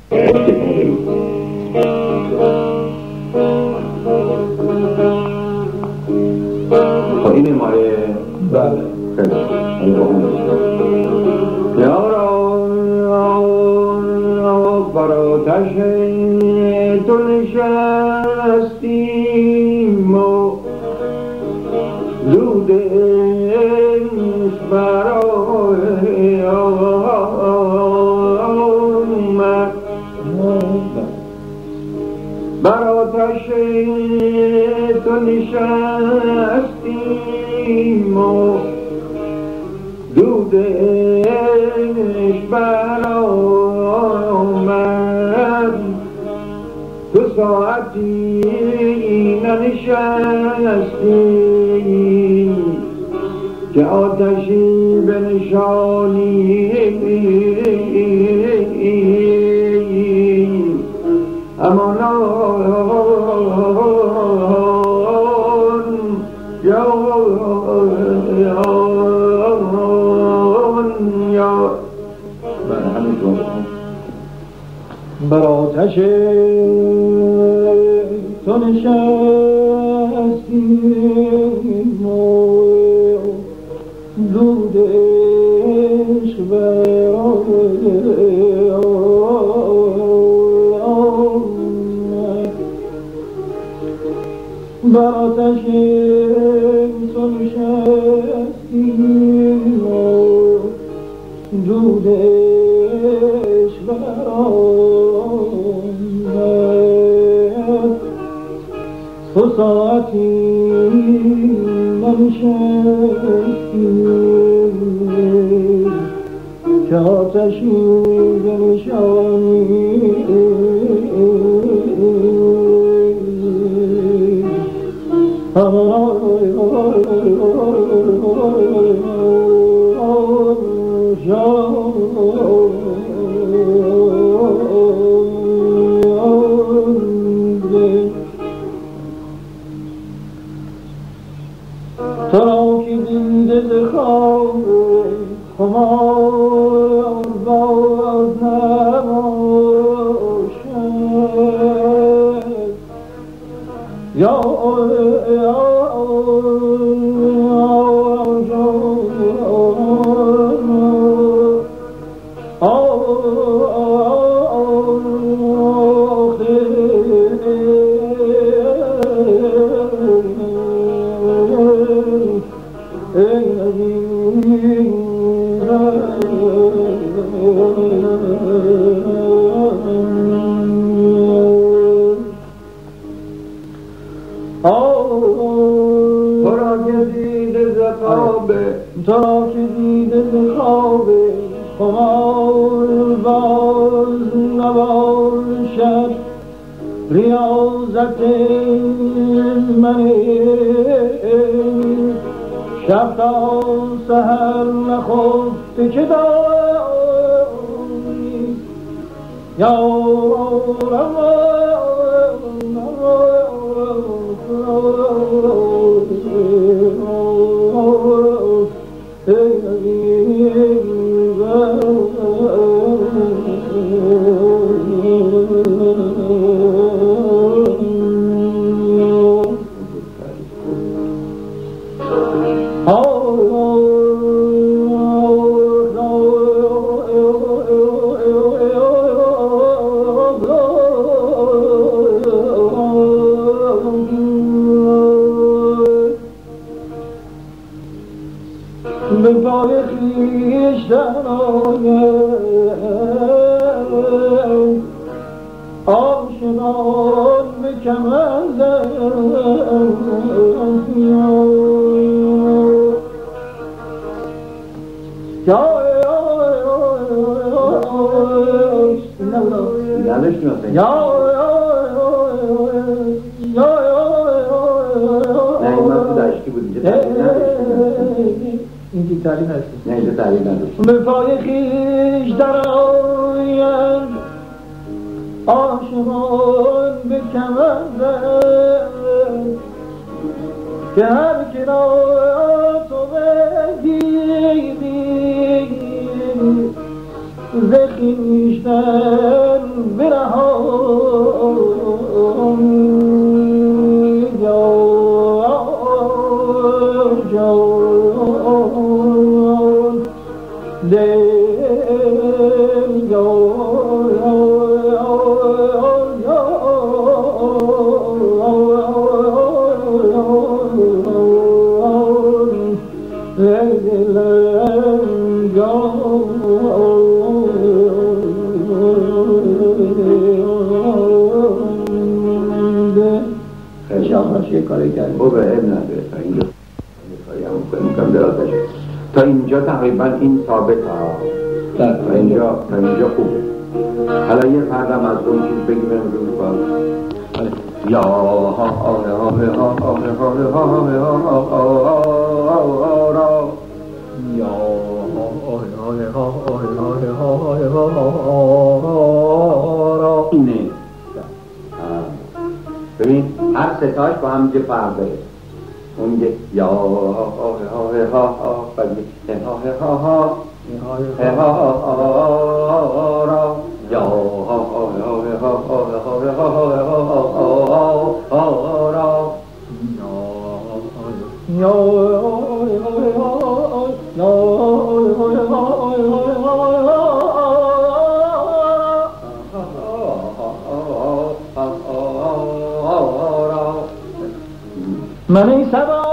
خب این ماره بله بر آتش تو نشستیم و دود عشق برای آمد بر آتش تو نشستیم و دود عشق برآمد تو ساعتی ننشستی که آتشی بنشانی امانان یا بر آتش تو نشستیم و دود عشق بر آتش تو نشستیم و دود عشق برآمد تو ساعتی ننشستیم که آتشی بنشانی تو را که دیده ز خواب خمار باز نباشد یا تو را که دیده ز خواب خمار باز نباشد ریاضت من شب تا سحر نخفته که داری یا به پای خویش درآید آشنان به کمند این گیتاری نشد نه اینجا تعریف نداشت به پای خویش درآید آشمان به کمند که هر که را تو بگیری ز خویشتن برهان جان دل کاری کرد. خوبه اب نداره تا اینجا میکنم درازش تا اینجا تقریبا این ثابت ها تا اینجا خوبه. حالا یه پردم از اون چیز بگیم رو باز یا اینه. ببین هر ستاش با هم یه فرق داره. اون یه یا ها بعد یه ها را یا من ای سبا